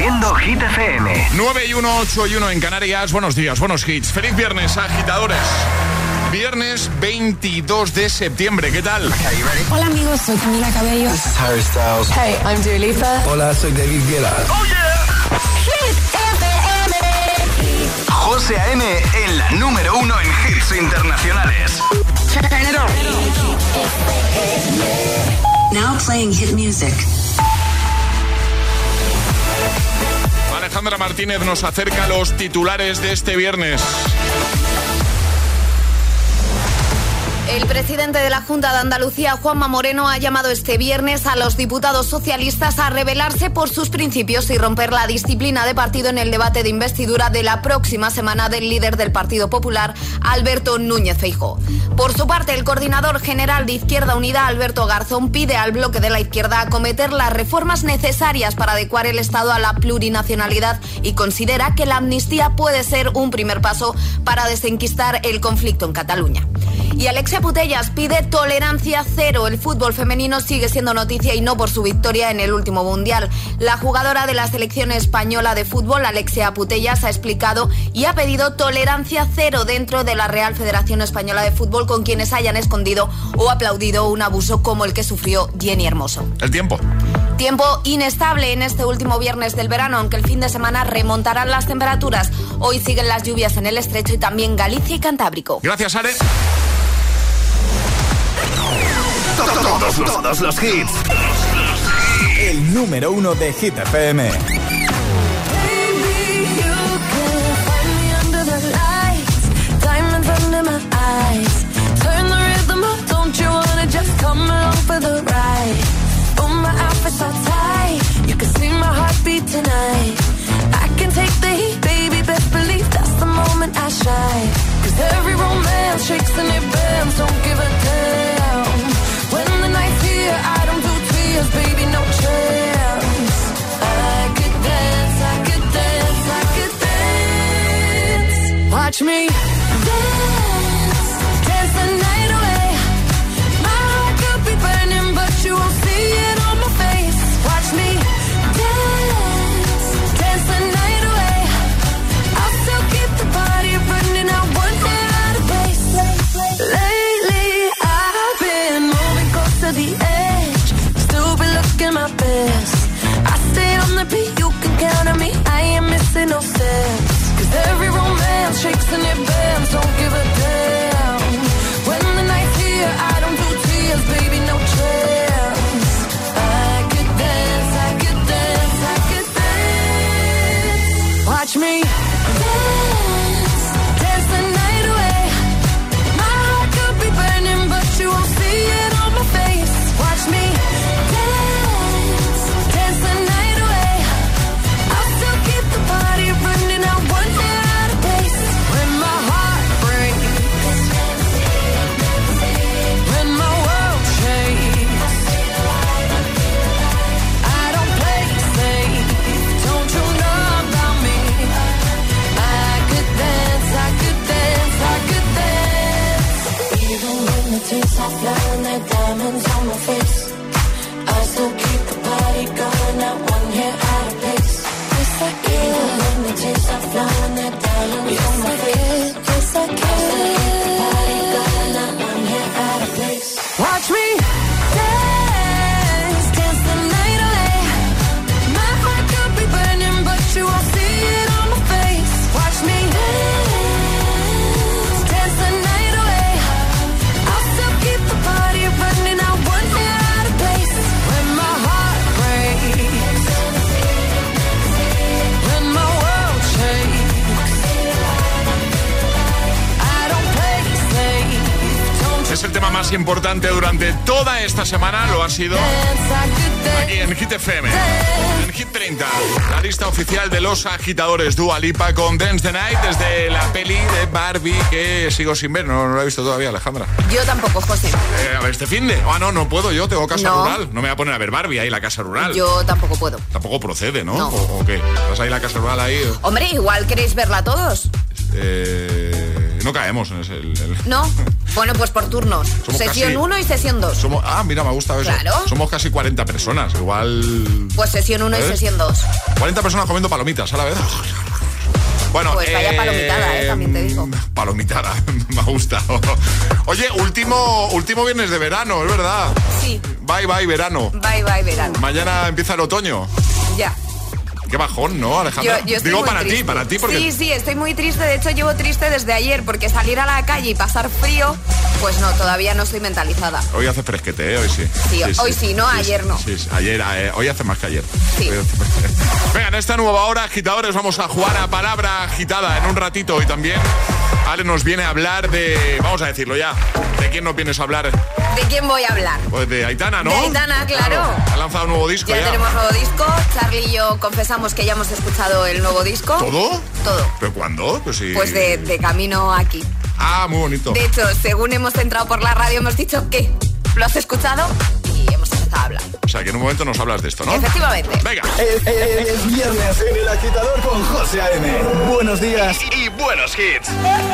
haciendo Hit FM. 9-1, 8-1 en Canarias. Buenos días, buenos hits. Feliz viernes, agitadores. Viernes 22 de septiembre, ¿qué tal? Hola amigos, soy Camila Cabello. This is Harry Styles. Hey, I'm Dua Lipa. Hola, soy David Guetta. ¡Oh, yeah! Hit FM. José A.M. en la número 1 en hits internacionales. Turn it on. Now playing hit music. Alejandra Martínez nos acerca a los titulares de este viernes. El presidente de la Junta de Andalucía, Juanma Moreno, ha llamado este viernes a los diputados socialistas a rebelarse por sus principios y romper la disciplina de partido en el debate de investidura de la próxima semana del líder del Partido Popular, Alberto Núñez Feijóo. Por su parte, el coordinador general de Izquierda Unida, Alberto Garzón, pide al bloque de la izquierda acometer las reformas necesarias para adecuar el Estado a la plurinacionalidad y considera que la amnistía puede ser un primer paso para desenquistar el conflicto en Cataluña. Y Alexia Putellas pide tolerancia cero. El fútbol femenino sigue siendo noticia y no por su victoria en el último mundial. La jugadora de la selección española de fútbol, Alexia Putellas, ha explicado y ha pedido tolerancia cero dentro de la Real Federación Española de Fútbol con quienes hayan escondido o aplaudido un abuso como el que sufrió Jenny Hermoso. El tiempo. Tiempo inestable en este último viernes del verano, aunque el fin de semana remontarán las temperaturas. Hoy siguen las lluvias en el Estrecho y también Galicia y Cantábrico. Gracias, Are. Todos los hits. El número 1 de Hit FM. Every romance shakes and it bends, don't give a damn. When the night's here, I don't do tears, baby, no chance. I could dance, I could dance, I could dance. Watch me dance, dance the night away. My heart could be burning, but you won't see it on my face. Watch me dance, dance the night away. I'll still keep the party burning out one day. Lately, I've been moving close to the edge. Still be looking my best. I stay on the beat, you can count on me. I ain't missing no steps. 'Cause every romance shakes and it bends. Don't give a damn. When the night's here, I don't do tears, baby, no chance. I could dance, I could dance, I could dance. Watch me dance, dance the night away. Burning, but you won't see it on my face. Watch me dance, dance the night away. I'll still keep the party running out one day at a pace. When my heart breaks, when my world shakes, I don't play safe. Don't you know about me? I could dance, I could dance, I could dance. Even when the tears are flowing, they're diamonds on my face. I still keep the party going, not one hair out of place. Yes, I can. Even when the tears are flowing, they're diamonds on my face. Yes, I can. I still keep the party going, not one hair out of place. Watch me dance, dance the night away. My heart could be burning, but you won't see it on my face. Watch me dance, dance the night away. I'll still keep the party running out one day out of place. When my heart breaks, when my world shakes, I don't play safe. Es el tema más importante durante toda esta semana, lo ha sido aquí en Hit FM. En Hit 30, la lista oficial de los agitadores. Dua Lipa con Dance the Night desde la peli de Barbie que sigo sin ver, no la he visto todavía, Alejandra. Yo tampoco, José. A ver, este finde. No puedo yo, tengo casa rural. No me voy a poner a ver Barbie ahí, la casa rural. Yo tampoco puedo. Tampoco procede, ¿no? No. ¿O qué? ¿Estás ahí la casa rural ahí? Hombre, igual queréis verla todos. No caemos en ese... No, Bueno, pues por turnos. Sesión 1 y sesión 2. Mira, me gusta eso. Claro. Somos casi 40 personas, igual... Pues sesión 1 y sesión 2. 40 personas comiendo palomitas a la vez. Bueno, pues vaya palomitada, también te digo. Palomitada, me ha gustado. Oye, último viernes de verano, es verdad. Sí. Bye, bye, verano. Bye, bye, verano. Mañana empieza el otoño. Ya. Qué bajón, ¿no, Alejandra? Yo Digo para ti, porque... Sí, estoy muy triste. De hecho, llevo triste desde ayer, porque salir a la calle y pasar frío, pues no, todavía no estoy mentalizada. Hoy hace fresquete, Hoy sí. Sí, hoy sí, ¿no? Ayer no. Sí, ayer, hoy hace más que ayer. Sí. Venga, en esta nueva hora, agitadores, vamos a jugar a palabra agitada en un ratito. Y también Ale nos viene a hablar de... Vamos a decirlo ya. ¿De quién nos vienes a hablar? ¿De quién voy a hablar? Pues de Aitana, ¿no? De Aitana, claro. Ha lanzado un nuevo disco ya. Ya tenemos nuevo disco. Charlie y yo confesamos que ya hemos escuchado el nuevo disco. ¿Todo? Todo. ¿Pero cuándo? Pues, sí. Pues de camino aquí. Ah, muy bonito. De hecho, según hemos entrado por la radio, hemos dicho que lo has escuchado y hemos empezado a hablar. O sea, que en un momento nos hablas de esto, ¿no? Efectivamente. Venga. Es viernes en El Agitador con José A.M. Buenos días y buenos hits.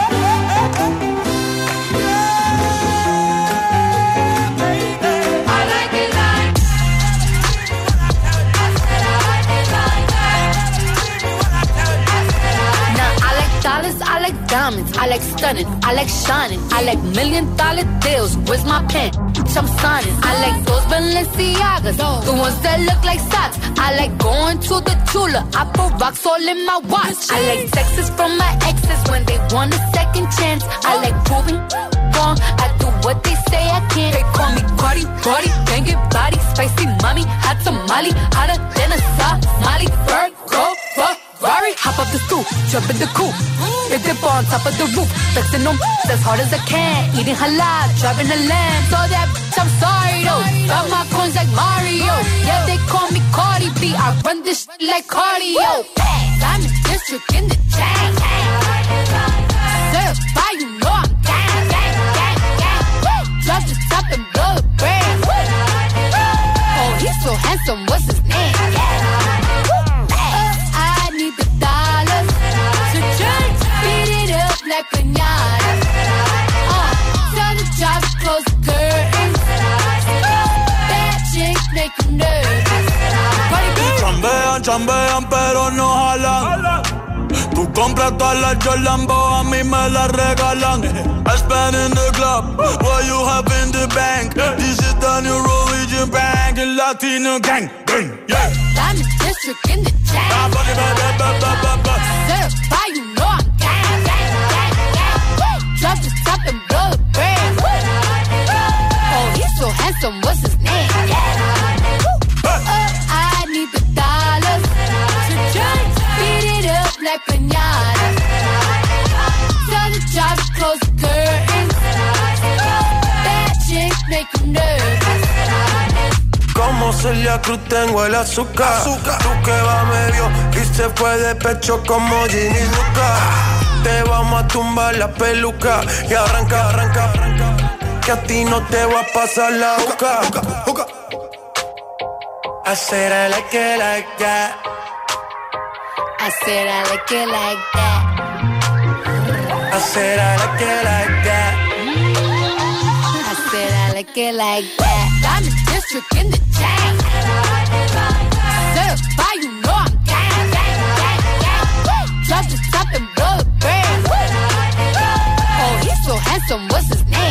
I like diamonds, I like stunning, I like shining, I like $1 million deals. Where's my pen? I'm signing. I like those Balenciagas, the ones that look like socks. I like going to the Tula, I put rocks all in my watch. I like texts from my exes when they want a second chance. I like proving wrong, I do what they say I can't. They call me Cardi, banging body, spicy mommy, hot tamale, hotter than a Somali. Virgo, Ferrari, hop up the stoop, jump in the coupe. They dip on top of the roof, flexing on as hard as I can. Eating halal, driving a lamb. So that I'm sorry though. Got my coins like Mario. Yeah, they call me Cardi B. I run this like cardio. Diamond district in the chain. Certified, you know I'm gang. Drop the top and blow the brand. Oh, he's so handsome. What's his name? I need the dollars to change. Beat it up like piñata. Tell the job to close the curtains. Bad chicks make them nervous. Chambean, pero no jalan. Tú compras todas las Jordan, a mí me las regalan. I spend in the club, what you have in the bank. This is the new religion bank, el Latino gang, yeah. Diamond district in the chain. Certified, you know I'm gang. Drop the top and blow the brand. Oh, he's so handsome, what's his name? I need the dollars to change. Beat it up like piñata. Tell the job to close the curtains. Bad chicks make them nervous. Como Celia Cruz tengo el azúcar. Tú que va medio y se fue de pecho como Ginny Luca. Te vamos a tumbar la peluca y arranca. Que a ti no te va a pasar la boca. I said I like it like that. I said I like it like that. I said I like it like that. I said I like it like that. Diamond district in the chain. Certified, you know I'm gang. Drop the top and blow the brand. Oh, he's so handsome, what's his name?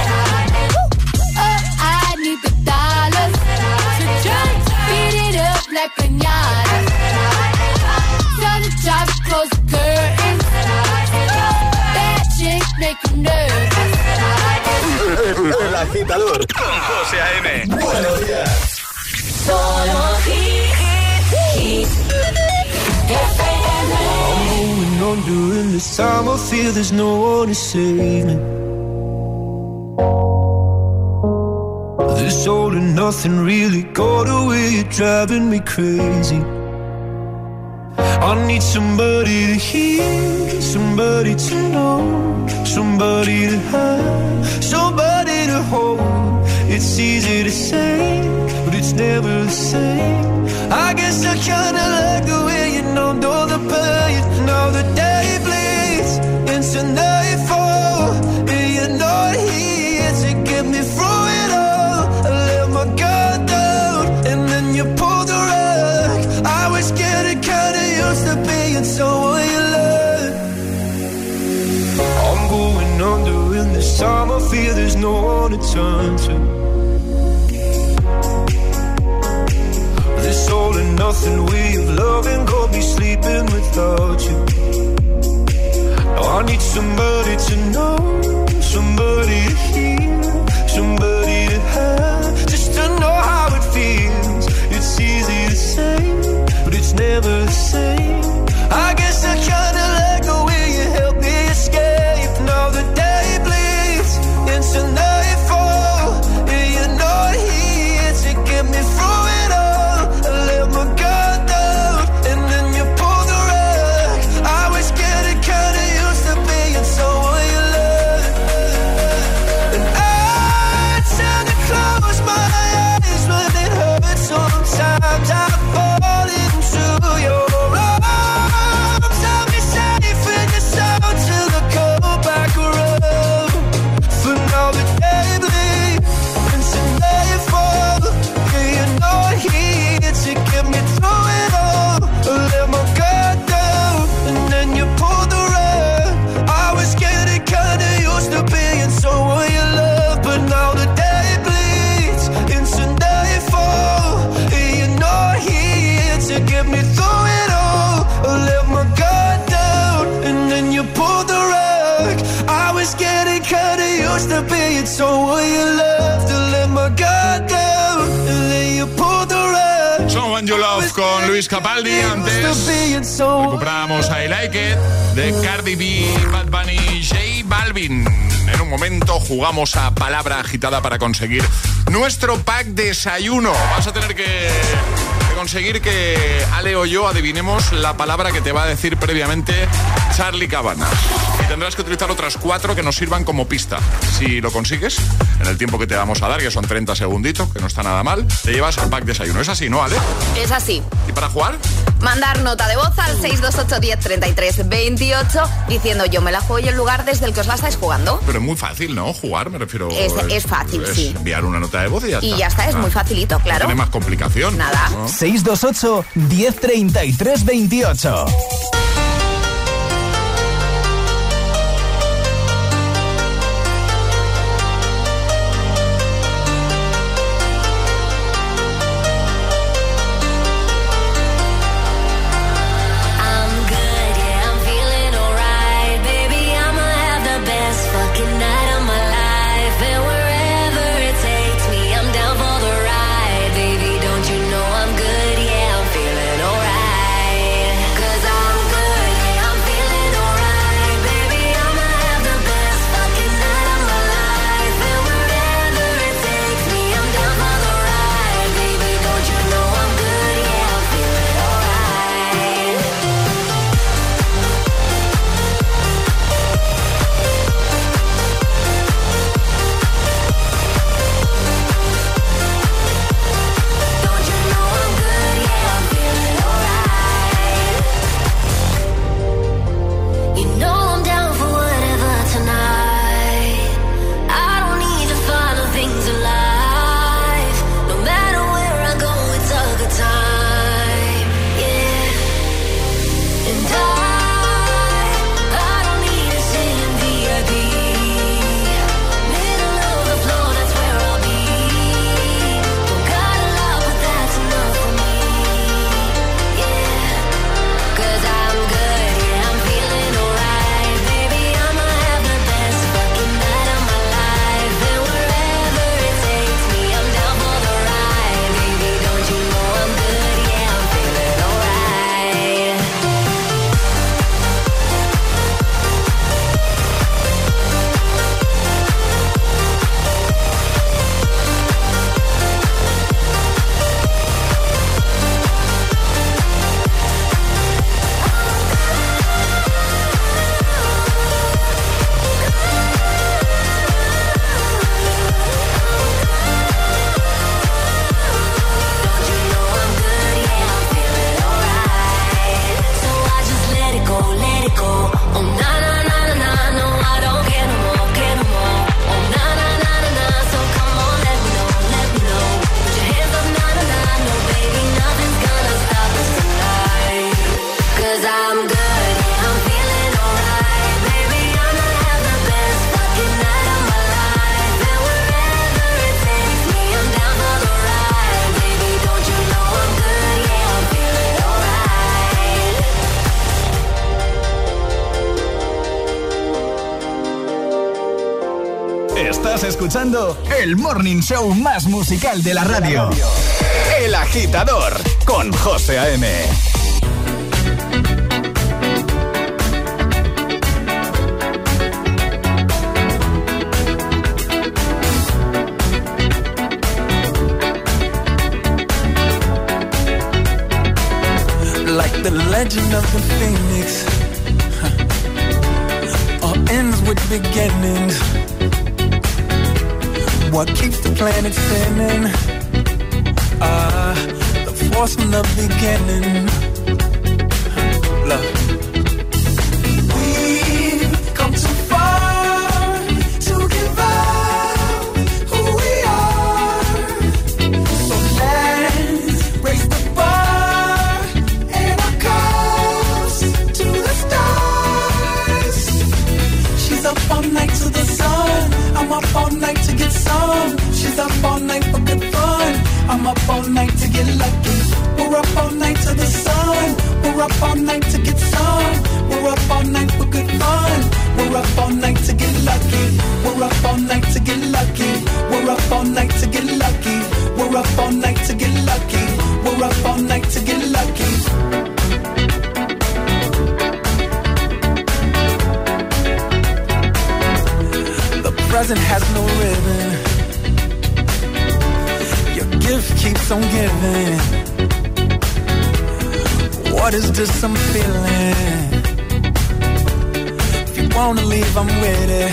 I need the dollars to change. Beat it up like piñata. Tell the job to close the curtains. Bad chicks make them nervous. El Agitador con José A.M. Buenos días. Solo hit FM. I'm moving on during this time. I feel there's no one to save me. This all and nothing really got away. You're driving me crazy. I need somebody to hear, somebody to know, somebody to have, somebody to hold. It's easy to say, but it's never the same. I guess I kinda like the way you numbed all the pain. Now the day bleeds into nightfall, and you're not here. was getting kinda used to being someone you love. I'm going under in this time. I fear there's no one to turn to. This all and nothing way of loving got me sleeping without you. Now I need somebody to know, somebody to hear, somebody to have, just to know how it feels. It's easy to say, but it's never the same. I guess I kinda like the way you help me escape. Now the day bleeds into nightfall, and you're not here to get me through it all. I let my guard down, and then you pulled the rug. I was getting kinda used to being someone you love, and I tend to close my eyes when it hurts. Sometimes I fall into your arms. I'll be safe in your soul till I come back around. For now the day bleeds into nightfall, yeah, you're not here to get me through it all. I let my guard down, and then you pulled the rug. I was getting kinda used to being someone you love, but now the day bleeds into nightfall, and you're not here to get me through it all. I let my guard down, and then you pulled the rug. I was getting kinda used to being someone you love, to let my guard down, and then you pulled the rug. Someone You Love con Luis Capaldi. Antes recuperamos I Like It de Cardi B, Bad Bunny y J Balvin. En un momento jugamos a palabra agitada para conseguir nuestro pack desayuno. Vas a tener que conseguir que Ale o yo adivinemos la palabra que te va a decir previamente Charlie Cabanas. Y tendrás que utilizar otras 4 que nos sirvan como pista. Si lo consigues, en el tiempo que te vamos a dar, que son 30 segunditos, que no está nada mal, te llevas el pack desayuno. ¿Es así, no, Ale? Es así. ¿Y para jugar? Mandar nota de voz al 628 10 33 28 diciendo yo me la juego y el lugar desde el que os la estáis jugando. Pero es muy fácil, ¿no? Jugar, me refiero... Es fácil, sí. Enviar una nota de voz y ya está. Y ya está, es muy facilito, claro. No tiene más complicación. Nada. ¿No? 628 10 33 28. Baby, don't you know I'm good? Yeah, I'm feeling alright. 'Cause I'm escuchando el morning show más musical de la radio. El Agitador, con José A.M. Like the legend of the phoenix, all ends with beginnings. What keeps the planet spinning? The force from the beginning. Love. We've come too far to give up who we are. So let's raise the bar and our cups to the stars. She's up all night to the sun. I'm up all night to get some. She's up all night for good fun. I'm up all night to get lucky. We're up all night to the sun. We're up all night to get some. We're up all night for good fun. We're up all night to get lucky. We're up all night to get lucky. We're up all night to get lucky. We're up all night to get lucky. We're up all night to get lucky. Present has no ribbon. Your gift keeps on giving. What is this I'm feeling? If you wanna leave, I'm with it.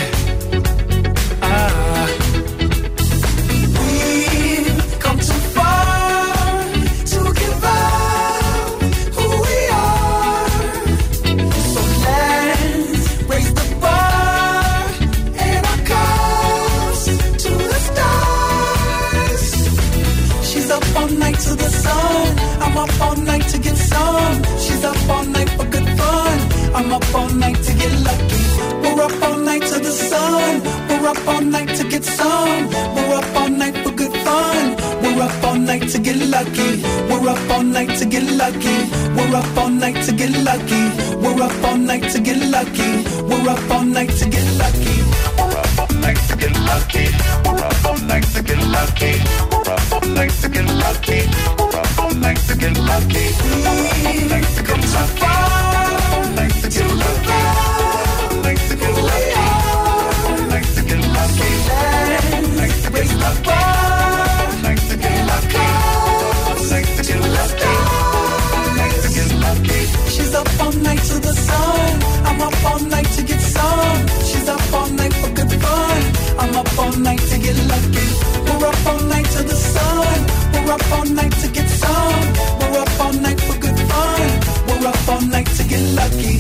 We've come too far to give up who we are. So let's raise the bar and our cups to the stars. She's up all night to the sun. I'm up all night to get some. She's up all night for good fun. I'm up all night to get lucky. We're up all night to the sun. We're up all night to get some. We're up all night for good fun. We're up all night to get lucky. We're up all night to get lucky. We're up all night to get lucky. We're up all night to get lucky. We're up all night to get lucky. We're up all night to get lucky. We're up all night to get lucky. We're up all night to get lucky. We're up all night to get lucky. We're up all night to get lucky. All night to get lucky. All night to get lucky. All night to get lucky. All night to get lucky. All night to get lucky. All night to get lucky. All night to get lucky. She's up all night to the sun. I'm up all night to get some. She's up all night for good fun. I'm up all night to get lucky. We're up all night to the sun. We're up all night to get some. We're up all night for good fun. We're up all night to get lucky.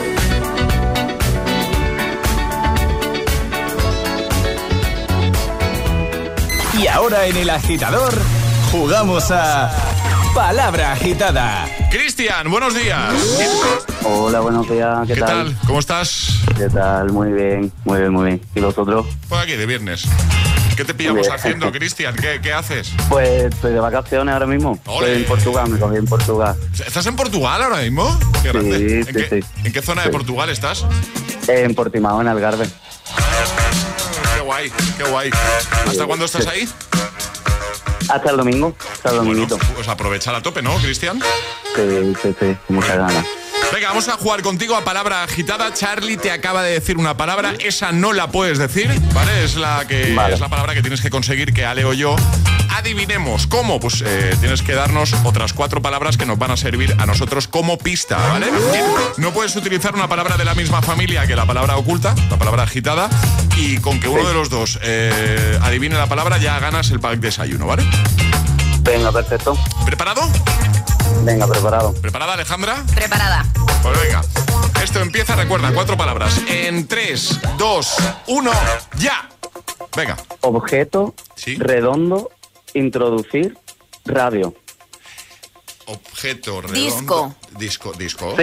Y ahora en El Agitador jugamos a Palabra Agitada. Cristian, buenos días. Hola, buenos días. ¿Qué tal? ¿Cómo estás? ¿Qué tal? Muy bien, muy bien, muy bien. ¿Y vosotros? Pues aquí, de viernes. ¿Qué te pillamos haciendo, Cristian? ¿Qué haces? Pues estoy de vacaciones ahora mismo. ¡Ole! Estoy en Portugal, me cogí en Portugal. ¿Estás en Portugal ahora mismo? Qué grande. Sí. ¿En qué zona de Portugal estás? En Portimao, en Algarve. Qué guay, qué guay. ¿Hasta cuándo estás ahí? Hasta el domingo, hasta el dominguito. Bueno, pues aprovechar a tope, ¿no, Cristian? Sí, muchas ganas. Venga, vamos a jugar contigo a palabra agitada. Charlie te acaba de decir una palabra, esa no la puedes decir, ¿vale? Es la palabra que tienes que conseguir que Ale o yo adivinemos. ¿Cómo? Pues tienes que darnos otras 4 palabras que nos van a servir a nosotros como pista, ¿vale? No puedes utilizar una palabra de la misma familia que la palabra oculta, la palabra agitada, y con que uno de los dos adivine la palabra ya ganas el pack de desayuno, ¿vale? Venga, perfecto. ¿Preparado? Venga, preparado. ¿Preparada, Alejandra? Preparada. Pues venga. Esto empieza, recuerda, 4 palabras. En 3, 2, 1, ¡ya! Venga. Objeto, ¿sí? Redondo, introducir, radio. Objeto, redondo. Disco. Disco,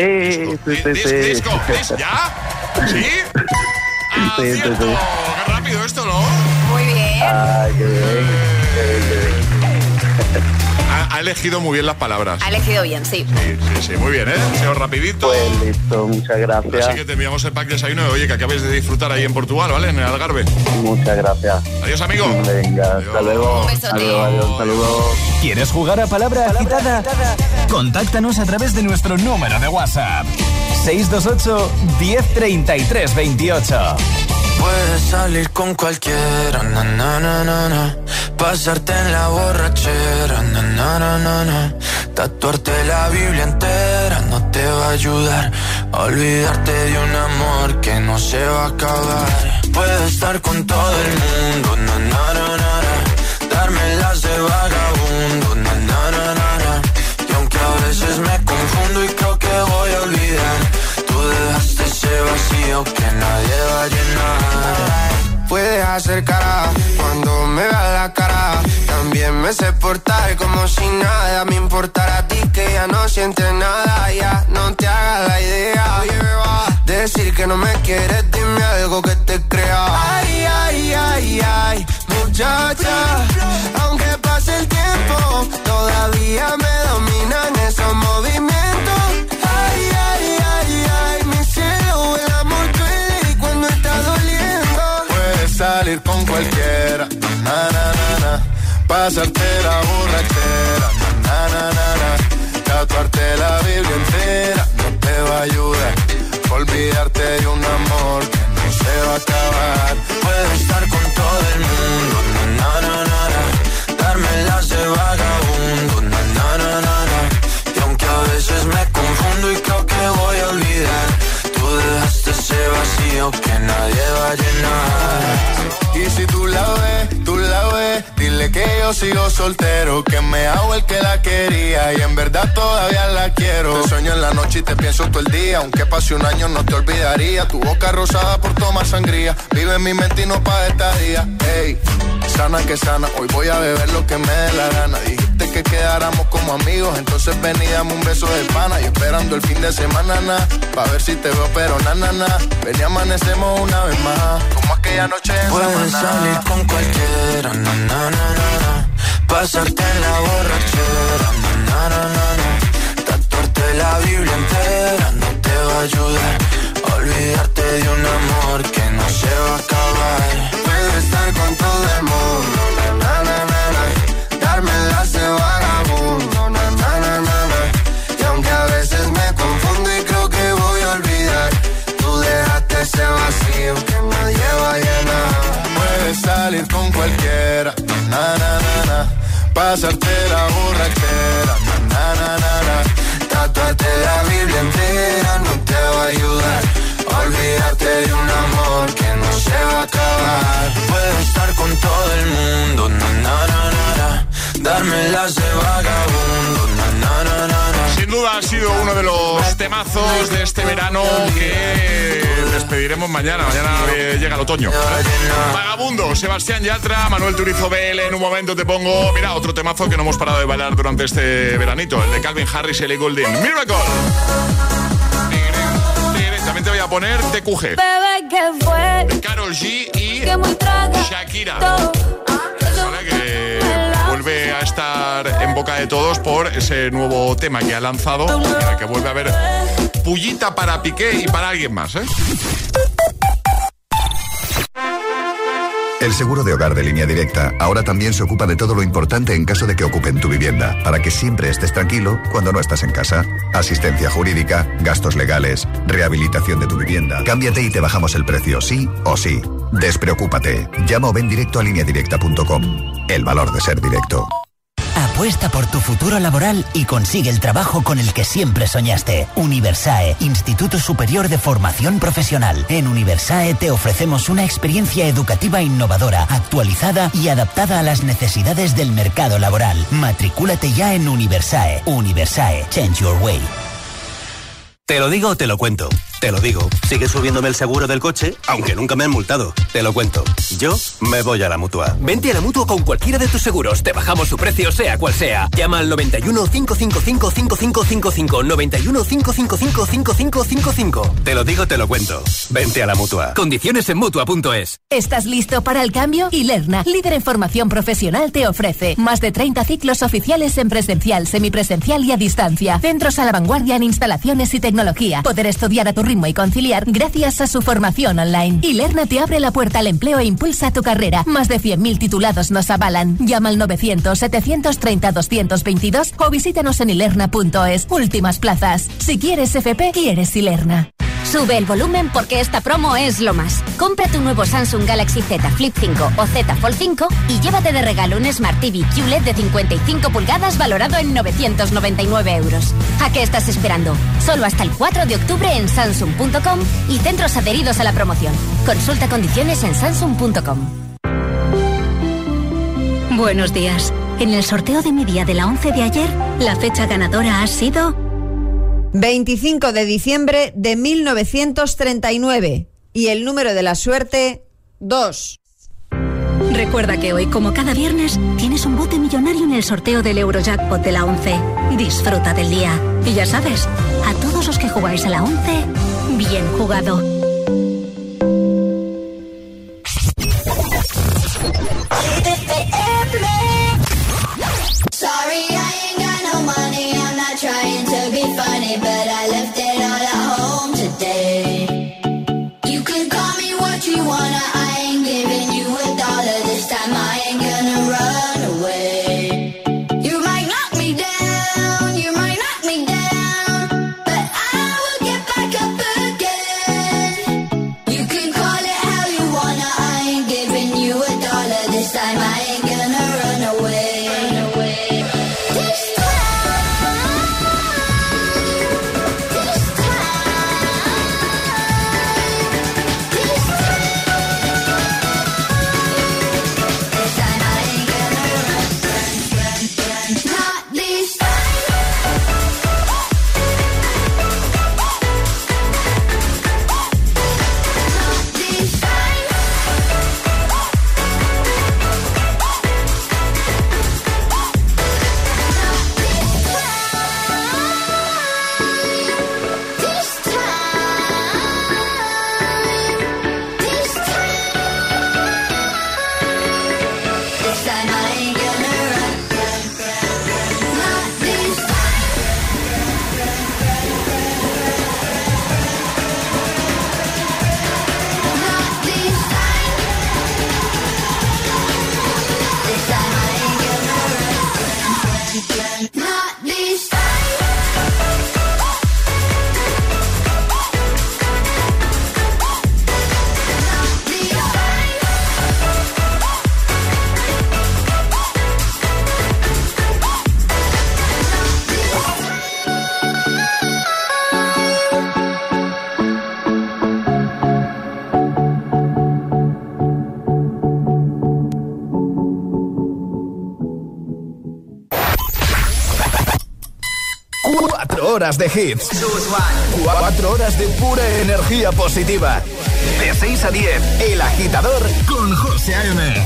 ¿ya? ¿Sí? Sí. Qué rápido esto, ¿no? Muy bien. Ay, qué bien. A ha elegido muy bien las palabras. Ha elegido bien, sí. Sí, muy bien, ¿eh? Ha sido rapidito. Pues listo, muchas gracias. Así que te enviamos el pack de desayuno. Oye, que acabes de disfrutar ahí en Portugal, ¿vale? En el Algarve. Muchas gracias. Adiós, amigo. Venga, hasta luego. Un besote. Adiós, saludos. ¿Quieres jugar a Palabra Agitada? Contáctanos a través de nuestro número de WhatsApp. 628 1033 28. Puedes salir con cualquiera, na, na, na, na, na. Pasarte en la borrachera, na, na, na, na, na. Tatuarte la Biblia entera no te va a ayudar a olvidarte de un amor que no se va a acabar. Puedes estar con todo el mundo, na, na, na, na, na. Darme las de vagabundo, na, na, na, na, na. Y aunque a veces me confundo y creo que voy a olvidar, tú dejaste ese vacío que nadie va a llenar. Puedes hacer cara cuando me veas la cara. También me sé portar como si nada me importara a ti, que ya no sientes nada. Ya no te hagas la idea. Decir que no me quieres, dime algo que te crea. Ay, ay, ay, ay, muchacha. Aunque pase el tiempo, todavía me dominan esos movimientos. Ay, ay, ay, ay, mi cielo, el amor duele y cuando está doliendo. Puedes salir con cualquiera, na, na, na, na. Pasarte la borrachera, na, na, na, na. Tatuarte la Biblia entera no te va a ayudar. Olvidarte de un amor que no se va a acabar. Puedes estar con todo el mundo, na, na, na, na, na. Darme las de vagabundo, na, na, na, na, na. Y aunque a veces me confundo y creo que voy a olvidar, tú dejaste ese vacío que nadie va a llenar. Y si tú la ves, dile que yo sigo soltero, que me hago el que la quería y en verdad todavía la quiero. Te sueño en la noche y te pienso todo el día, aunque pase un año no te olvidaría. Tu boca rosada por tomar sangría, vive en mi mente y no pa' estadía. Ey, sana que sana, hoy voy a beber lo que me dé la gana. Dijiste que quedáramos como amigos, entonces ven y dame un beso de pana. Y esperando el fin de semana, na, pa' ver si te veo, pero na, na, na. Ven y amanecemos una vez más, como aquella noche en Puedes salir con cualquiera, na, na, na, na, na. Pasarte en la borrachera, na, na, na, na, na. Tatuarte la Biblia entera no te va a ayudar a olvidarte de un amor que no se va a acabar. Puedes estar con todo el mundo, na, na, na, na, na. Darme las de vagabundo, na, na, na, na, na. Y aunque a veces me confundo y creo que voy a olvidar, tú dejaste ese vacío que nadie va a llenar. Puedes salir con cualquiera, na, na, na, na. Pasarte la borrachera, na, na, na, na. Tatuarte la Biblia entera no te va a ayudar a olvidarte de un amor que no se va a acabar. Puedes estar con todo el mundo, na, na, na, na, na. Darme las de vagabundo, na, na, na, na, na. Sin duda ha sido uno de los temazos de este verano que despediremos mañana. Mañana llega el otoño. Vagabundo, Sebastián Yatra, Manuel Turizo BL. En un momento te pongo, mira, otro temazo que no hemos parado de bailar durante este veranito, el de Calvin Harris y Ellie Goulding. Miracle. También te voy a poner TQG. Bebé, ¿qué fue? Karol G y Shakira. Que vuelve a estar en boca de todos por ese nuevo tema que ha lanzado, en el que vuelve a haber pullita para Piqué y para alguien más, ¿eh? El seguro de hogar de Línea Directa ahora también se ocupa de todo lo importante en caso de que ocupen tu vivienda, para que siempre estés tranquilo cuando no estás en casa. Asistencia jurídica, gastos legales, rehabilitación de tu vivienda. Cámbiate y te bajamos el precio, sí o sí. Despreocúpate. Llama o ven directo a lineadirecta.com. El valor de ser directo. Apuesta por tu futuro laboral y consigue el trabajo con el que siempre soñaste. Universae, Instituto Superior de Formación Profesional. En Universae te ofrecemos una experiencia educativa innovadora, actualizada y adaptada a las necesidades del mercado laboral. Matricúlate ya en Universae. Universae, change your way. Te lo digo o te lo cuento. Te lo digo, sigue subiéndome el seguro del coche, aunque nunca me han multado. Te lo cuento. Yo me voy a la Mutua. Vente a la Mutua con cualquiera de tus seguros. Te bajamos su precio, sea cual sea. Llama al 91 555 5555. 91 555 5555. Te lo digo, te lo cuento. Vente a la Mutua. Condiciones en Mutua.es. ¿Estás listo para el cambio? Ilerna, líder en formación profesional, te ofrece más de 30 ciclos oficiales en presencial, semipresencial y a distancia. Centros a la vanguardia en instalaciones y tecnología. Poder estudiar a tu ritmo y conciliar gracias a su formación online. Ilerna te abre la puerta al empleo e impulsa tu carrera. Más de 100.000 titulados nos avalan. Llama al 900-730-222 o visítanos en ilerna.es. Últimas plazas. Si quieres FP, quieres Ilerna. Sube el volumen porque esta promo es lo más. Compra tu nuevo Samsung Galaxy Z Flip 5 o Z Fold 5 y llévate de regalo un Smart TV QLED de 55 pulgadas valorado en 999 euros. ¿A qué estás esperando? Solo hasta el 4 de octubre en Samsung.com y centros adheridos a la promoción. Consulta condiciones en Samsung.com. Buenos días. En el sorteo de mi día de la 11 de ayer, la fecha ganadora ha sido 25 de diciembre de 1939 y el número de la suerte 2. Recuerda que hoy, como cada viernes, tienes un bote millonario en el sorteo del Eurojackpot de la 11. Disfruta del día. Y ya sabes, a todos los que jugáis a la 11, bien jugado. Sorry, I ain't got no money, I'm not trying to be funny, but I left it all at home today. You can call me what you wanna, I ain't giving you $1 this time, I ain't gonna run away. You might knock me down, you might knock me down, but I will get back up again. You can call it how you wanna, I ain't giving you $1 this time, I ain't gonna run away. Horas de hits, 4 horas de pura energía positiva. De 6 a 10, El Agitador con José A.M.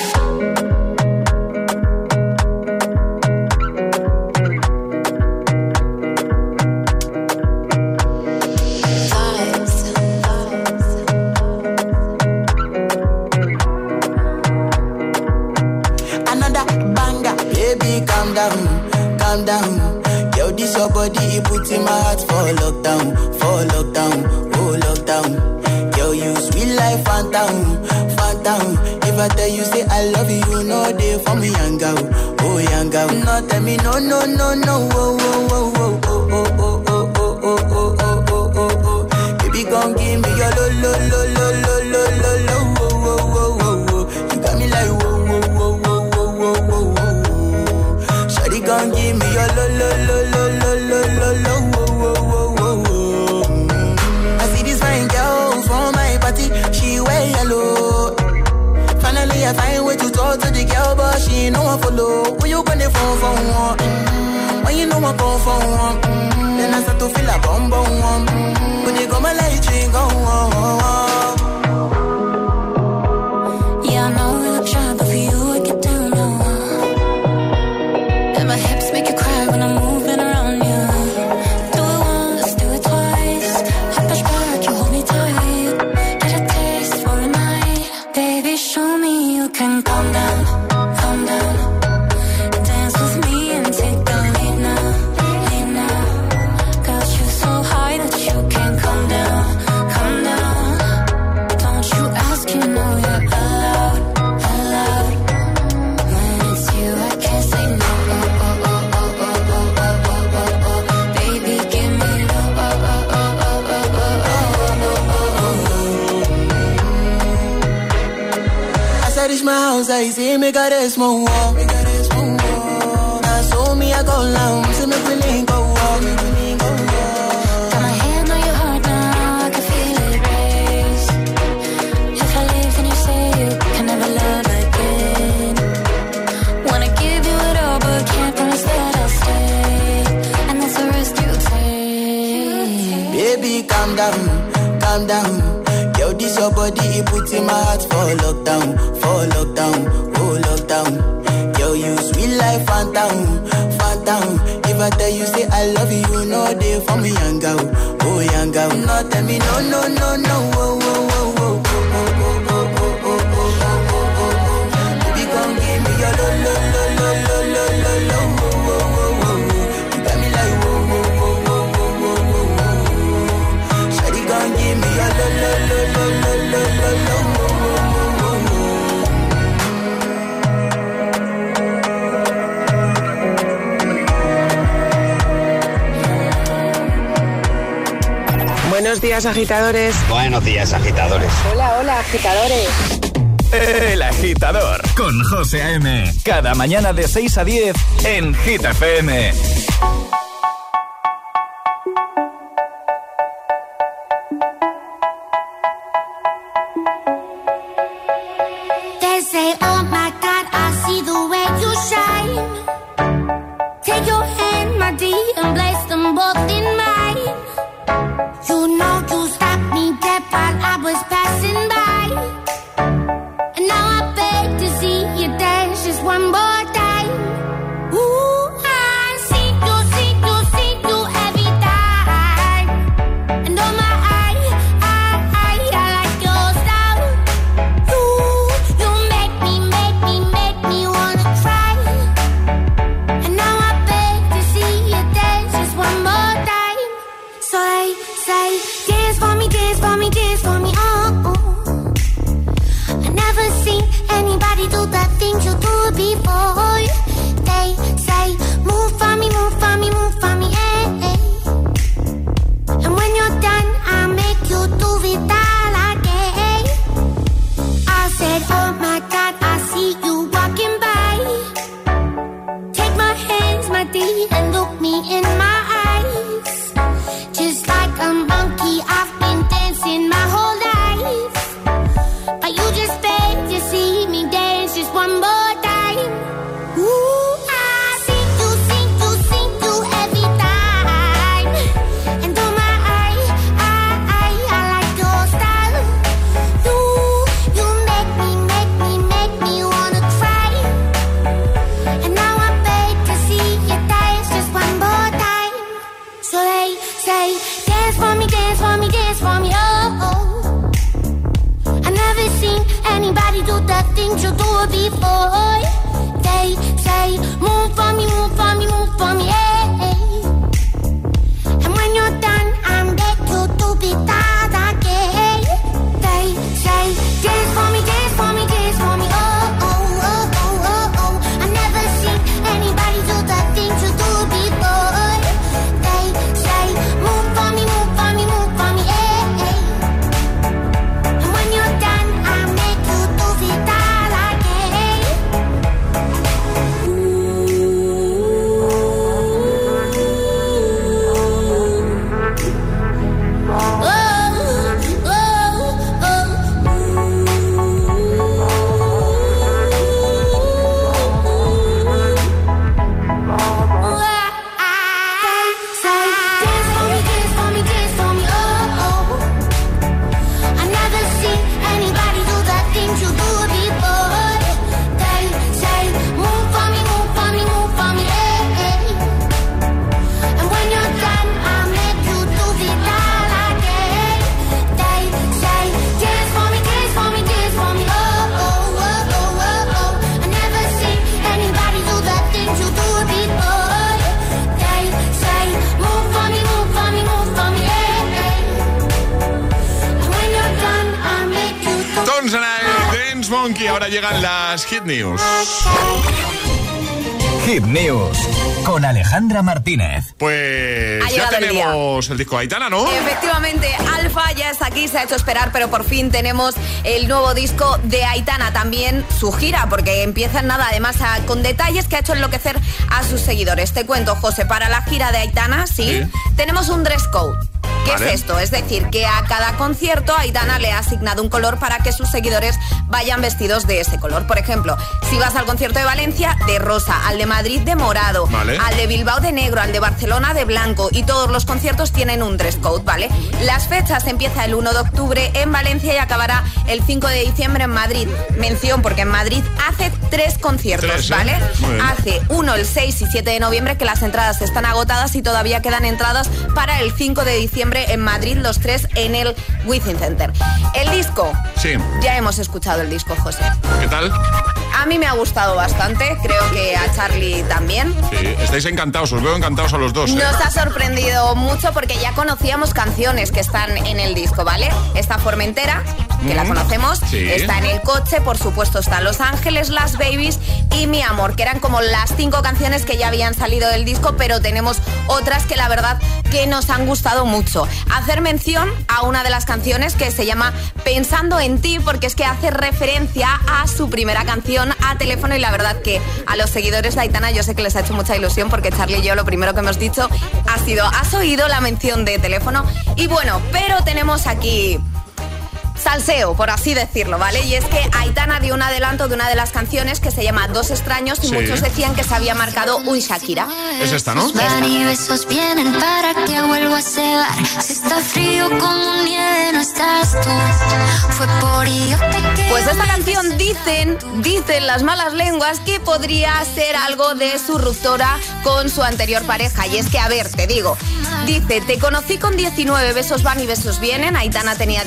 Another banger, baby, calm down, calm down. This your body, it puts in my heart for lockdown, oh lockdown. Girl, you sweet life, phantom, phantom. If I tell you say I love you, you know they for me, young girl, oh young girl. No, tell me no, no, no, no, oh, oh, oh, oh, oh, oh, oh, oh, oh, oh, oh, oh, oh, oh. Baby, come give me your lo, lo, lo, lo, lo, lo, lo, lo, oh, oh, oh, oh, oh. You got me like whoa, whoa, whoa, whoa, whoa, whoa, whoa, whoa. Shawty, come give me your lo, lo, lo, lo. She wear yellow. Finally I find way to talk to the girl, but she ain't no one follow. Who you gonna phone for one? When you know I come for one? outside, see me got a small wall. Now show me I go long, see me willing go walk. Got my hand on your heart now, I can feel it race. If I leave, then you say you can never love again. Wanna give you it all, but can't promise that I'll stay. And that's the risk you take. Baby, calm down, calm down. Yo, this your body, it puts in my heart for lockdown, oh lockdown. Yo, you sweet life, phantom, phantom. If I tell you say I love you, you know they for me, young girl, oh young girl. No, tell me no, no, no, no, oh, oh, oh, oh, oh, oh, oh, oh, oh, oh, oh, oh. Baby, come give me your lo, lo, lo, lo, lo, lo, lo, lo, oh, oh, oh, oh. You got me like oh, oh, oh, oh, oh, oh, oh, oh. Shawty, come give me your lo, lo, lo, lo, lo, lo, lo, lo, oh, oh, oh, oh, oh. Buenos días, agitadores. Buenos días, agitadores. Hola, hola, agitadores. El Agitador con José A.M. Cada mañana de 6 a 10 en Hit FM. They say, oh my God, I see the way you shine. Take your hand, my dear, and place them both in mine. You know you stopped me dead while I was passing by. And now I beg to see you dance just one more time. Ooh, I see you every time. And oh my, I like your style. You make me wanna cry. And now I beg to see you dance just one more time. So they say, dance for me, dance for me, dance for me, oh, oh. I never seen anybody do the things you do before. They say, move for me, move for me, move for me, eh, eh. And when you're done, I'll make you do it all again. I said, oh my God, I see you walking by. Take my hands, my dear, and look me in my eyes. Just like a monkey, I've been dancing my whole life. But you just beg to see me dance just one more time. Ooh, I see you every time. And oh my, I like your style. You make me wanna cry. And now I beg to see you dance just one more time. So they say, dance for me, dance for me, dance for me, oh, oh. I never seen anybody do the things you do before. They say, move for me, move for me, move for me, eh, eh. And when you're done, I'm back to do it all again. They say, dance for me, dance for me, dance for me, oh, oh, oh, oh, oh, oh. I never seen anybody do the things you do before. They say, move for me, move for me, move for me, eh, eh. And when you're done, I'll make you do it all again. Monkey, ahora llegan las Hit News. Hit News con Alejandra Martínez. Pues ya tenemos el disco de Aitana, ¿no? Efectivamente, Alfa ya está aquí, se ha hecho esperar, pero por fin tenemos el nuevo disco de Aitana, también su gira, porque empieza en nada, además con detalles que ha hecho enloquecer a sus seguidores. Te cuento, José, para la gira de Aitana, sí. Tenemos un dress code. ¿Qué es esto? Es decir, que a cada concierto Aitana le ha asignado un color para que sus seguidores vayan vestidos de ese color. Por ejemplo, si vas al concierto de Valencia, de rosa, al de Madrid de morado, al de Bilbao de negro, al de Barcelona de blanco, y todos los conciertos tienen un dress code, ¿vale? Las fechas empieza el 1 de octubre en Valencia y acabará el 5 de diciembre en Madrid. Mención porque en Madrid hace 3 conciertos, ¿vale? Hace 1, el 6 y 7 de noviembre, que las entradas están agotadas y todavía quedan entradas para el 5 de diciembre en Madrid, los 3 en el Wizzing Center. El disco. Sí. Ya hemos escuchado el disco, José. ¿Qué tal? A mí me ha gustado bastante, creo que a Charlie también. Sí, estáis encantados, os veo encantados a los dos. Nos ha sorprendido mucho porque ya conocíamos canciones que están en el disco, ¿vale? Está Formentera, que la conocemos, está En el coche, por supuesto está Los Ángeles, Las Babies y Mi Amor, que eran como las 5 canciones que ya habían salido del disco, pero tenemos otras que la verdad que nos han gustado mucho. Hacer mención a una de las canciones que se llama Pensando en ti, porque es que hace referencia a su primera canción, A Teléfono, y la verdad que a los seguidores de Aitana yo sé que les ha hecho mucha ilusión, porque Charlie y yo lo primero que hemos dicho ha sido, ¿has oído la mención de Teléfono? Y bueno, pero tenemos aquí salseo, por así decirlo, ¿vale? Y es que Aitana dio un adelanto de una de las canciones que se llama Dos extraños y muchos decían que se había marcado un Shakira. Es esta, ¿no? Y besos vienen para que vuelva a cegar. Si está frío como nieve no estás tú. Fue por idiota que... Pues esta canción dicen las malas lenguas que podría ser algo de su ruptura con su anterior pareja. Y es que, a ver, te digo, dice, te conocí con 19, besos van y besos vienen. Aitana tenía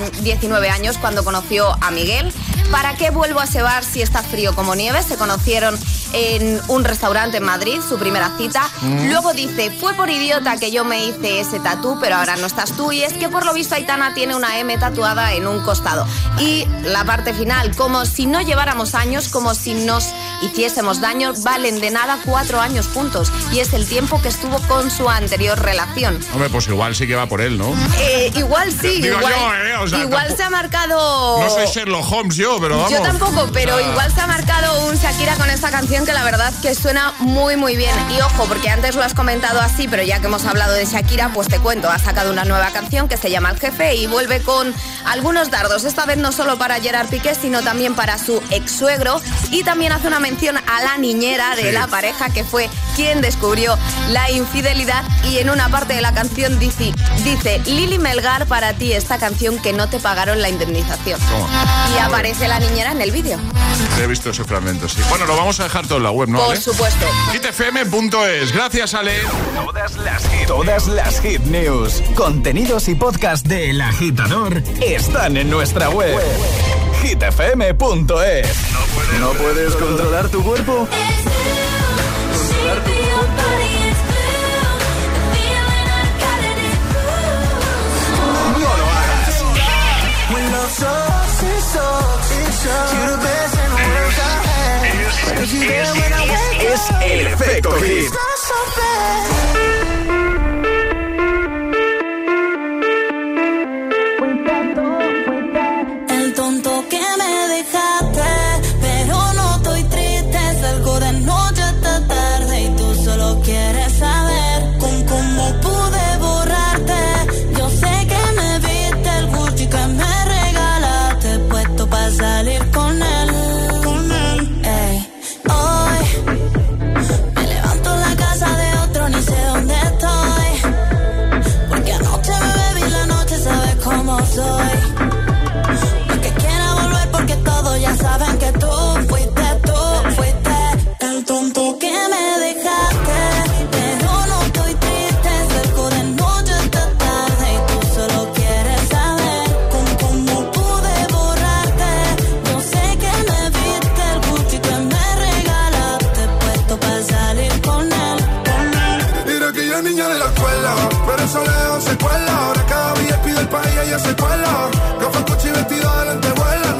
19 años cuando conoció a Miguel. ¿Para qué vuelvo a cebar si está frío como nieve? Se conocieron en un restaurante en Madrid, su primera cita. Luego dice, fue por idiota que yo me hice ese tatú, pero ahora no estás tú. Y es que por lo visto Aitana tiene una M tatuada en un costado. Y la parte final, como si no lleváramos años, como si nos hiciésemos daño, valen de nada 4 años juntos. Y es el tiempo que estuvo con su anterior relación. Hombre, pues igual sí que va por él, ¿no? Igual sí. Digo igual, yo, o sea, igual se ha marcado... No soy Sherlock Holmes yo, pero vamos. Yo tampoco, pero igual se ha marcado un Shakira con esta canción que la verdad que suena muy muy bien. Y ojo, porque antes lo has comentado así, pero ya que hemos hablado de Shakira, pues te cuento, ha sacado una nueva canción que se llama El Jefe y vuelve con algunos dardos, esta vez no solo para Gerard Piqué, sino también para su ex suegro, y también hace una mención a la niñera de la pareja, que fue quien descubrió la infidelidad, y en una parte de la canción dice Lili Melgar, para ti esta canción que no te pagaron la indemnización. Y aparece la niñera en el vídeo. He visto ese fragmento, sí. Bueno, lo vamos a dejar todo en la web, ¿no? Por supuesto. hitfm.es. Gracias, Ale. Todas las hit news, contenidos y podcast de El Agitador están en nuestra web. hitfm.es. ¿No puedes controlar tu cuerpo? No lo hagas. Es el efecto hit. El tonto que me dejaste, pero no estoy triste. Salgo de noche hasta tarde y tú solo quieres saber con cómo pude borrarte. Yo sé que me viste el Gucci que me regalaste, puesto para salir con él. Ey. Hoy me levanto en la casa de otro, ni sé dónde estoy, porque anoche me bebí la noche, sabes cómo soy. No que quiera volver porque todos ya saben que tú fuiste el tonto que me dejaste, pero no estoy triste. Salgo de noche hasta tarde y tú solo quieres saber con cómo pude borrarte. Yo sé que me viste el Gucci que me regalaste, puesto para salir con él. Mira que ella niña de la escuela, pero eso lejos se cuela. Ahora cada día pide el país y ella se cuela. Gafas, coche y vestido de lentejuela. Nos vemos y nos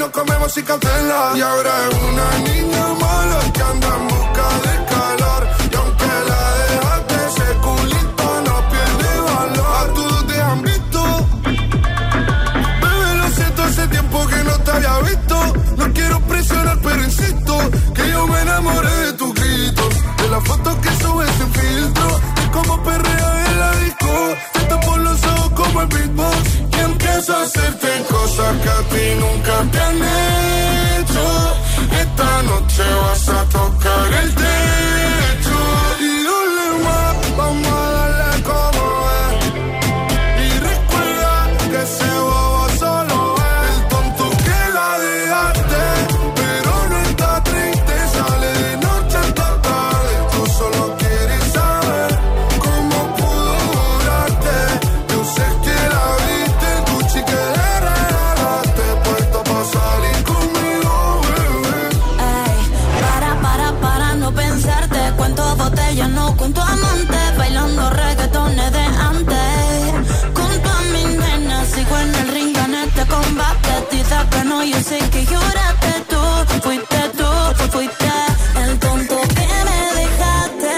nos comemos sin cautela. Y ahora es una niña mala que anda en busca de calor. Y aunque la dejaste, ese culito no pierde valor. A todos te han visto. Bebé, lo siento, hace tiempo que no te había visto. No quiero presionar, pero insisto que yo me enamoré de tus gritos, de las fotos que subes sin filtro, de cómo perreas en la disco. Te tapo los ojos como el beatbox y empiezo a hacerte cosas que a ti nunca te han hecho. Esta noche vas a tocar el techo y dale más, vamos a darle como es. Y recuerda que ese bobo solo es el tonto que la dejaste, pero no está triste, sale de noche hasta tarde. Tú solo quieres saber cómo pudo durarte. Yo sé que la viste, el Gucci que le regalaste, puesto pa' salir conmigo, bebé. Ey, para no pensarte. Cuento botellas, no cuento amantes. Bailando reggaetones de antes. Junto a mi nena, sigo en el ring, gané este combate. Dice que no, yo sé que lloraste tú. Fuiste el tonto que me dejaste.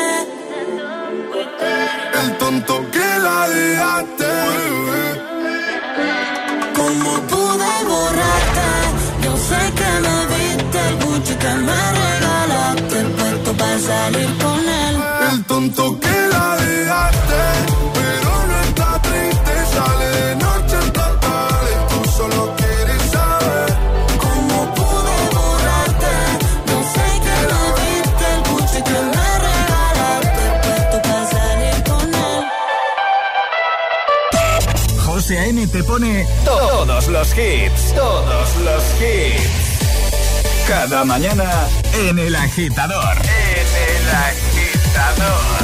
El tonto que la dejaste, bebé. ¿Cómo pude borrarte? Yo sé que me viste el Gucci que me regalaste, puesto para salir con él. El tonto que la dejaste, pero no está triste, sale de noche hasta tarde. Tú solo quieres saber ¿Cómo pude borrarte? Yo sé que me viste el Gucci que me regalaste, puesto para salir con él. José A.M. te pone todos los hits. Todos los hits. Cada mañana en El Agitador. En El Agitador.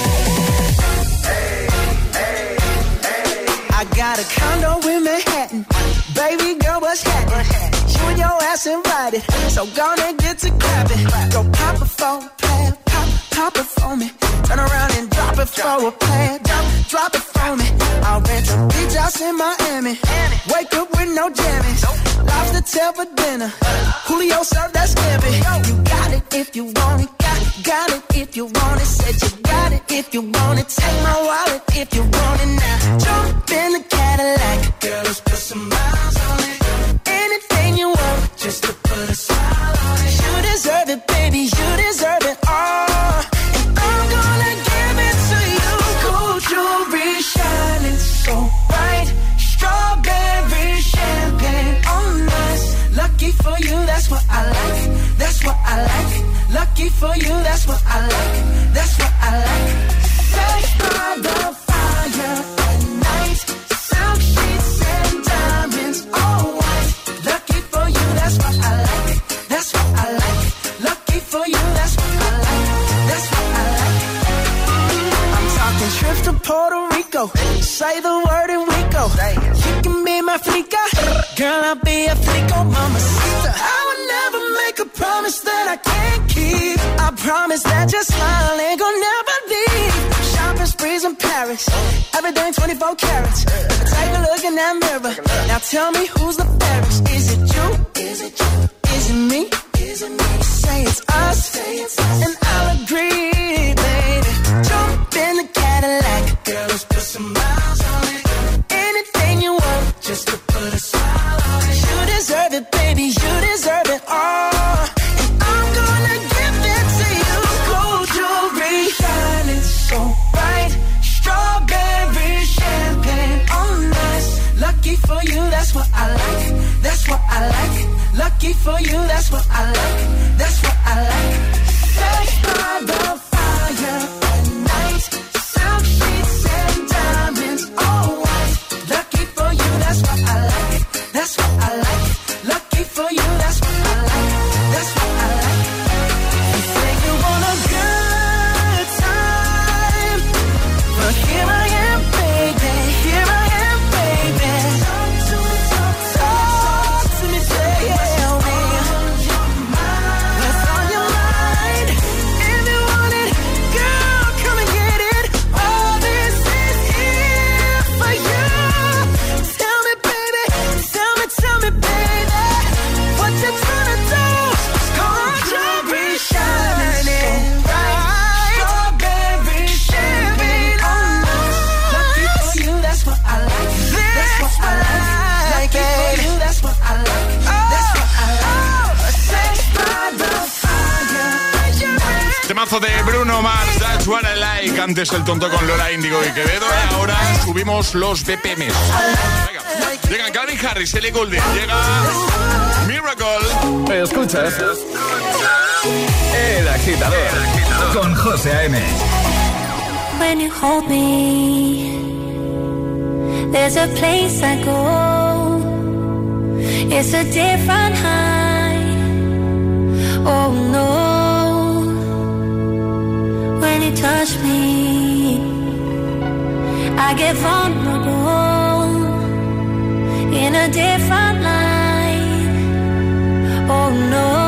I got a condo in Manhattan. Baby girl, what's happening? You and your ass invited, so gonna get to clapping. Go pop it for a plan, pop it for me. Turn around and drop it for a plan, drop it for me. I'll rent a beach house in Miami. Wake up with no jammies. Lobster tail for dinner. Julio served that scampi. You got it if you want it. Got it if you want it. Said you got it if you want it. Take my wallet if you want it now. Jump in the Cadillac. Girl, let's put some miles on it. Anything you want, just to put a smile on it. You deserve it, baby. You deserve it all. And I'm gonna give it to you. Gold jewelry shining so bright. Strawberry champagne on us. Lucky for you, that's what I like. That's what I like. Lucky for you, that's what I like. That's what I like. Sex by the fire at night. Silk sheets and diamonds, all white. Lucky for you, that's what I like. That's what I like. Lucky for you, that's what I like. That's what I like. I'm talking trips to Puerto Rico. Say the word and we go. You can be my flica. Girl, I'll be a flico, mamacita. I would never make a promise that I can't keep. I promise that your smile ain't gonna never leave. Shopping sprees in Paris. Everything 24 carats. Take a look in that mirror. Now tell me who's the fairest. Is it you? Is it you? Is it me? Is it me? Say it's us. And I'll agree, baby. Jump in the Cadillac. Girl, let's put some miles on it. Anything you want, just to put a smile on it. You deserve it, baby. You deserve it all. And I'm gonna give it to you. Gold jewelry shining so bright. Strawberry champagne on us. Lucky for you, that's what I like. That's what I like. Lucky for you, that's what I like. That's what I like. Sex by the fire at night. Silk sheets and diamonds, all white. Lucky for you, that's what I like. That's what I like. Lucky for you, that's what I like. That's what I like. You say you want a good time, but here I am, baby. Here I am, baby. Talk to me, tell me. Temazo de Bruno Mars, That's What I Like. Antes el tonto con Lola Índigo y Quevedo. Y ahora subimos los BPMs. Venga, llega Calvin Harris, Ellie Goulding, llega Miracle. Escuchas El Agitador con José A.M. When you hold me, there's a place I go. It's a different high. Oh no. When you touch me, I get vulnerable in a different light. Oh no.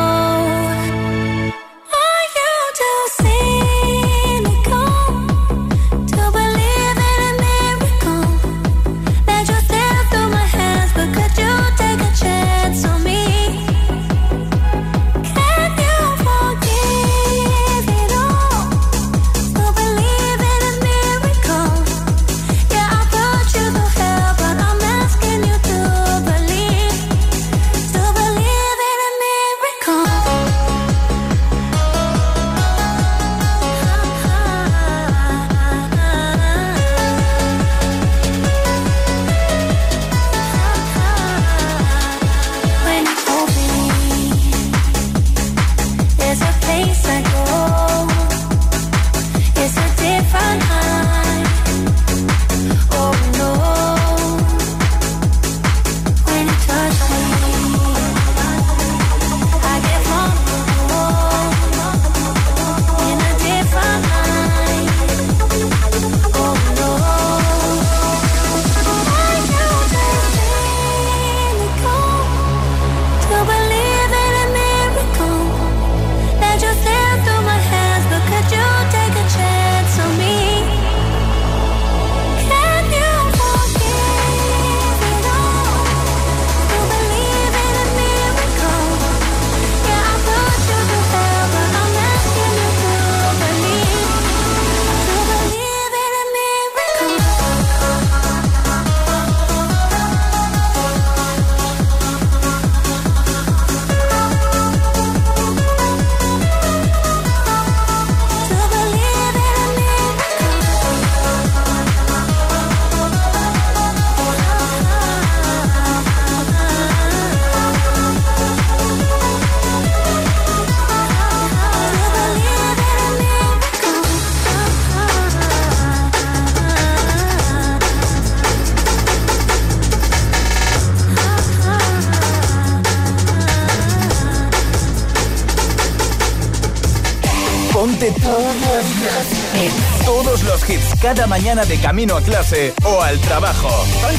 Todos los hits cada mañana de camino a clase o al trabajo.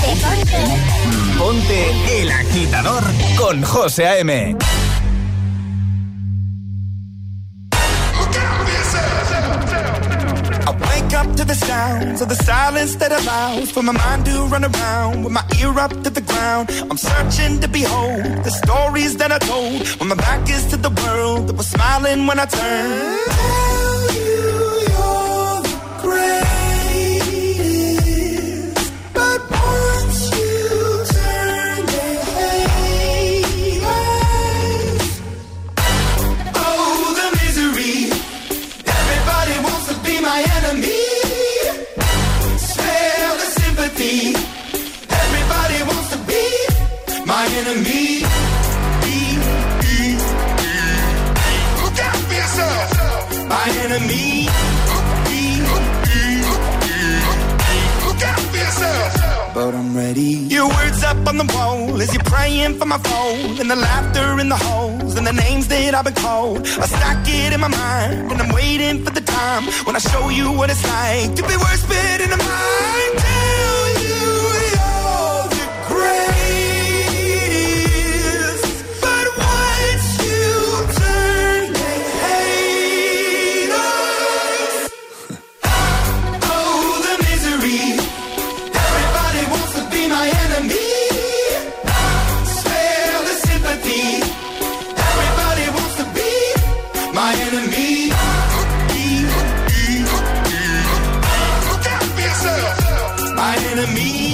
Ponte El Agitador con José A.M. Up to the sounds of the silence that allows for my mind to run around with my ear up to the ground. I'm searching to behold the stories that I told when my back is to the world that was smiling when I turned. Tell you you're the greatest, but once you turn they hate us. Oh, the misery. Everybody wants to be my enemy. Everybody wants to be my enemy. Look out for yourself. My enemy. Look out for yourself. But I'm ready. Your words up on the wall as you're praying for my phone, and the laughter in the halls and the names that I've been called. I stack it in my mind and I'm waiting for the time when I show you what it's like to be worse fit in the mind.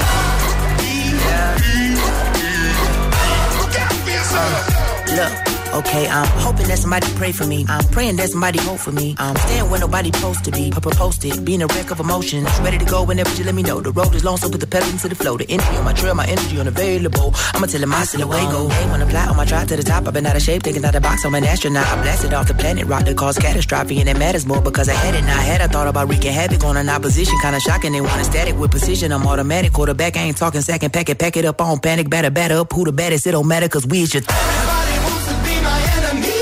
Look, Okay, I'm hoping that somebody pray for me. I'm praying that somebody hope for me. I'm staying where nobody's supposed to be. Posted, being a wreck of emotions. Ready to go whenever you let me know. The road is long, so put the pedal into the flow. The energy on my trail, my energy unavailable. I'ma tell him I still away go. Hey, when I fly on my drive to the top, I've been out of shape, taking out the box. I'm an astronaut. I blasted off the planet, rock that caused catastrophe, and it matters more because I had it. Now I had I thought about wreaking havoc on an opposition, kinda shocking. They want a static with precision. I'm automatic, quarterback. I ain't talking second. Pack it up on panic. Batter up. Who the baddest? It don't matter 'cause we is your. Everybody wants to be my enemy.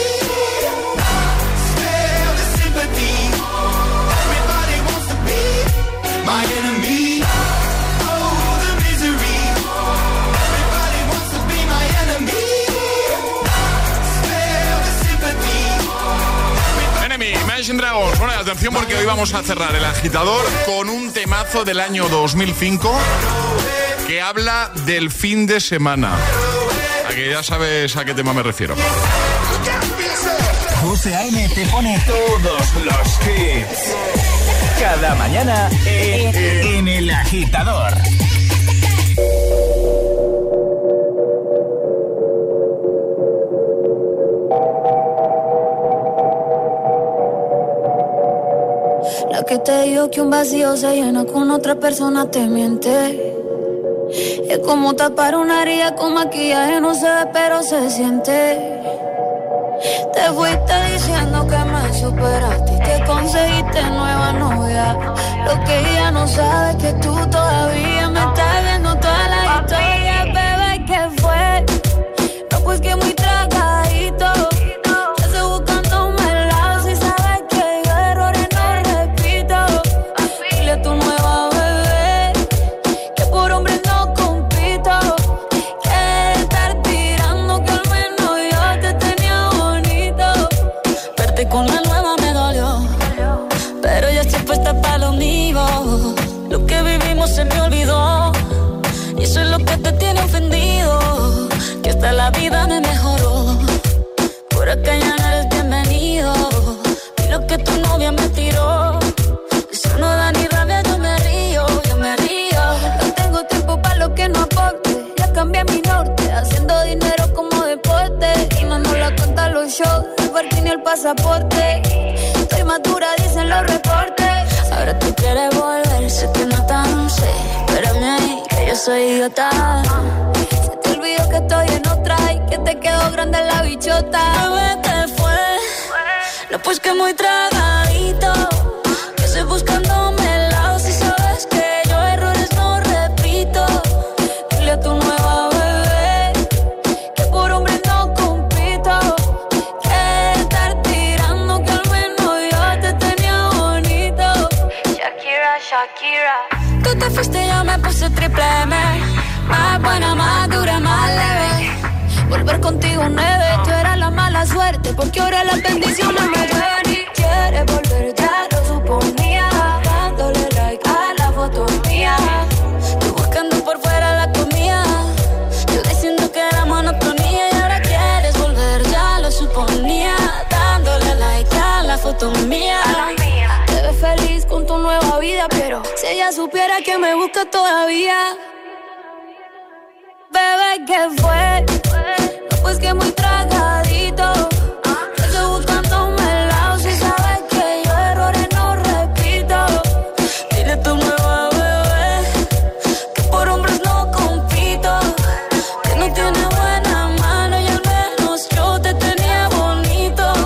Spare the sympathy. Everybody wants to be my enemy. Oh, the misery. Everybody wants to be my enemy. Spare the sympathy. Enemy, Imagine Dragons. Bueno, atención porque hoy vamos a cerrar el agitador con un temazo del año 2005 que habla del fin de semana. A que ya sabes a qué tema me refiero. José A.M. te pone todos los hits. Cada mañana en El Agitador. La que te dijo que un vacío se llena con otra persona te miente. Es como tapar una herida con maquillaje, no se ve pero se siente. Te fuiste diciendo que me superaste y que conseguiste nueva novia. Lo que ella no sabe es que tú todavía me estás viendo toda la historia. Bebé, ¿qué fue? No, pues que muy tragadito. Estoy buscándome el lado si sabes que yo errores no repito. Dile a tu nueva bebé que por hombre no compito. Que estar tirando que al menos yo te tenía bonito. Verte con la nueva me dolió, pero ya estoy puesta para lo mío. Lo que vivimos se me olvidó y eso es lo que te tiene ofendido. Que hasta la vida me mejoró. Por acá ya no eres bienvenido. Y lo que tu novia me tiró, eso no da ni rabia, yo me río, yo me río. No tengo tiempo para lo que no aporte. Ya cambié mi norte, haciendo dinero como deporte. Y no nos la cuentan los shows, el parking y el pasaporte. Estoy madura, dicen los reportes. Ahora tú quieres volver, sé que no tan sé. Espérame ahí, que yo soy idiota. Se te olvidó que estoy en otra y que te quedó grande la bichota. Bebé, ¿qué fue? No, pues que muy tragadito. Que estoy buscándome el lado si sabes que yo errores no repito. Dile a tu nueva bebé que por hombre no compito. Que estar tirando que al menos yo te tenía bonito. Shakira, Shakira. Tú te fuiste y yo me puse triple M. Más buena, más dura, más leve. Volver contigo nueve. Tú eras la mala suerte porque ahora las bendiciones me llueven. Y quieres volver, ya lo suponía. Dándole like a la foto mía. Tú buscando por fuera la comida. Yo diciendo que era monotonía. Y ahora quieres volver, ya lo suponía. Dándole like a la foto mía. Te ves feliz con tu nueva vida, pero si ella supiera que me busca todavía. Bebé, ¿qué fue? No, pues que muy tragadito. Estoy buscándome el lado si sabes que yo errores no repito. Dile a tu nueva bebé que por hombres no compito. Que no tiene buena mano y al menos yo te tenía bonito.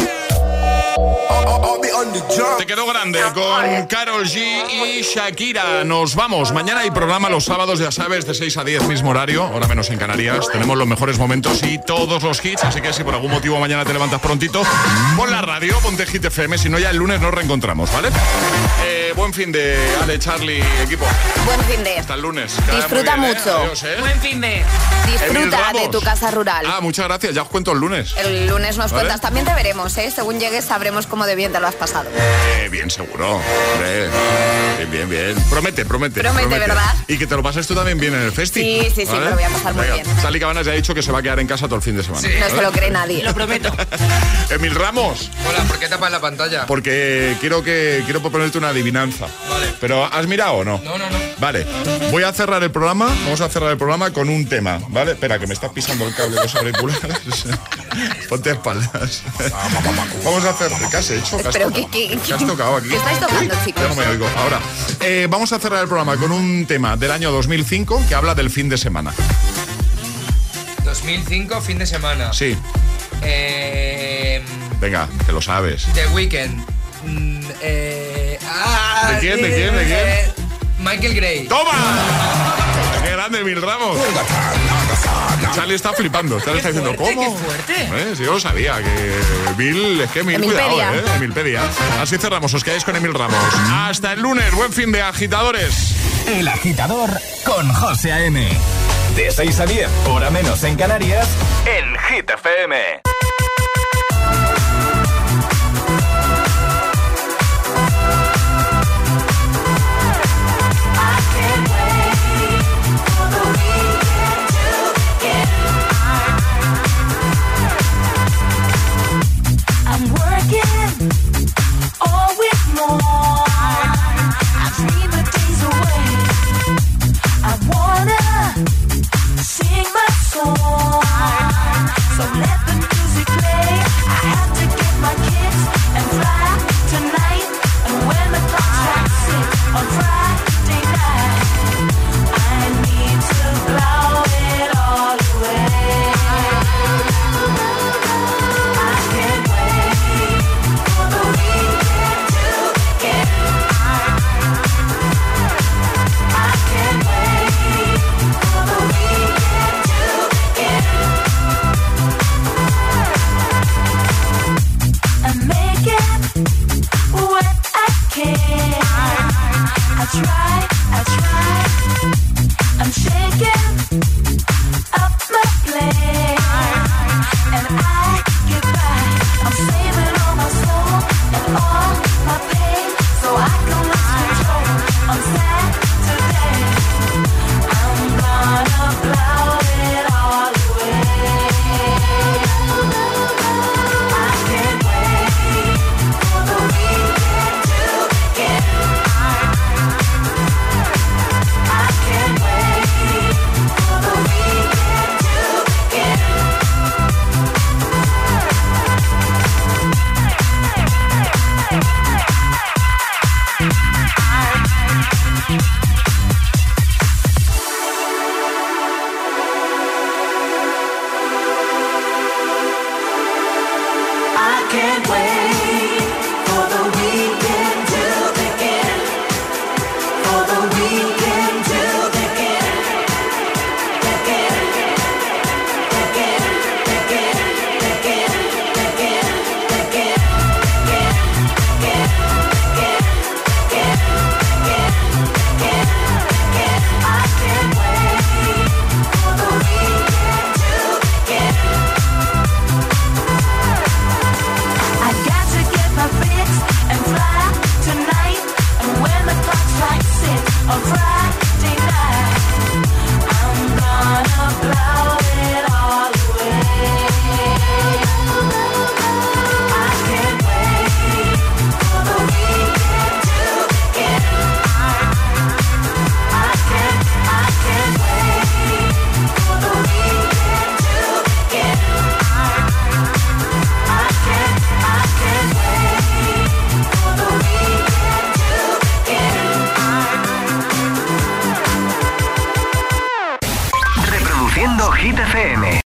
Te quedó grande con Karol G y Shakira. Nos vamos. Mañana hay programa los sábados, ya sabes, de 6 a 10, mismo horario, hora menos en Canarias. Tenemos los mejores momentos y todos los hits, así que si por algún motivo mañana te levantas prontito, pon la radio, ponte Hit FM, si no ya el lunes nos reencontramos, ¿vale? Buen fin de Ale, Charlie, equipo. Buen fin de. Hasta el lunes. Disfruta Muy bien, mucho. Adiós, Buen fin de. Disfruta de tu casa rural. Ah, muchas gracias. Ya os cuento el lunes. El lunes nos ¿Vale? cuentas. También te veremos, ¿eh? Según llegues sabremos cómo de bien te lo has pasado. bien, seguro. Hombre, bien. Promete, ¿verdad? Y que te lo pases tú también bien en el festi. Sí, me lo voy a pasar muy bien. Sally Cabanas ya ha dicho que se va a quedar en casa todo el fin de semana. Sí. No se lo cree nadie. Lo prometo. Emil Ramos. Hola, ¿por qué tapas la pantalla? Porque quiero proponerte una adivinanza. Vale. ¿Pero has mirado o no? No. Vale. Vamos a cerrar el programa con un tema, ¿vale? Espera, que me estás pisando el cable de los auriculares. Ponte a espaldas. Vamos a hacer... ¿Qué has hecho? ¿Qué has tocado aquí? ¿Qué estáis tocando, chicos? Ya no me oigo. Ahora, vamos a cerrar el programa con un tema del año 2005 que habla del fin de semana. 2005, fin de semana. Sí. Venga, que lo sabes. The Weeknd. ¿De quién? Michael Gray. ¡Toma! ¡Qué grande, Emil Ramos! Charlie está flipando. Charlie está diciendo, ¿cómo? ¡Qué fuerte! Sí, yo lo sabía, que Emil, cuidado, Emilpedia. Así cerramos, os quedáis con Emil Ramos. Hasta el lunes, buen fin de agitadores. El Agitador con José A.M. De 6 a 10, hora menos en Canarias, en Hit FM.